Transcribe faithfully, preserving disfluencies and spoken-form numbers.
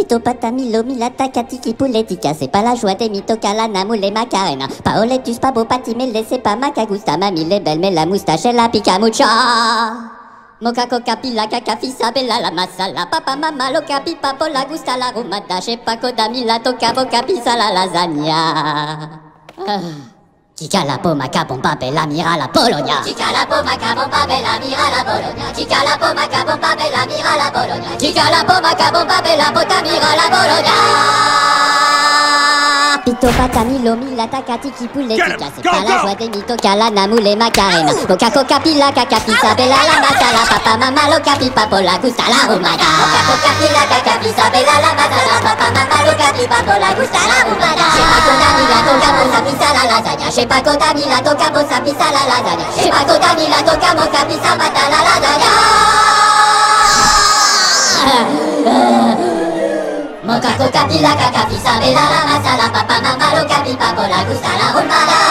Pito patami lomi la takatiki pouletica, c'est pas la joie des mitoca la namoule et macarena. Paoletus pas beau patimele, c'est pas ma cagusta, mamie les belle mais la moustache et la picamucha. Moka coca pila caca fisa bella la masala, papa mama loca pipa la gusta la rumada, che paco damila toca boca pisa la lasagna. Chica la poma capompa bella mira la Bologna. Chica la poma capompa bella mira la Bologna. Chica la poma capompa bella mira la Bologna. Chica la poma capompa bella bota mira la Bologna. Pito patami lomi la takatiki pouletica, c'est pas la joie des mitoca la namoule et macarena. Moka coca pila caca pisa bella la masala, papa mama loca pipa la gusta la rumada. Moka coca pila caca pisa bella la masala, papa mama loca pipa la gusta la rumada. Che Paco Damila toca bossa pisa la lasagna. Che Paco Damila toca bossa pisa mata la lasagna. Moca coca pila caca pisa bella la masala, papa mama loca pipa la gusta la rumada.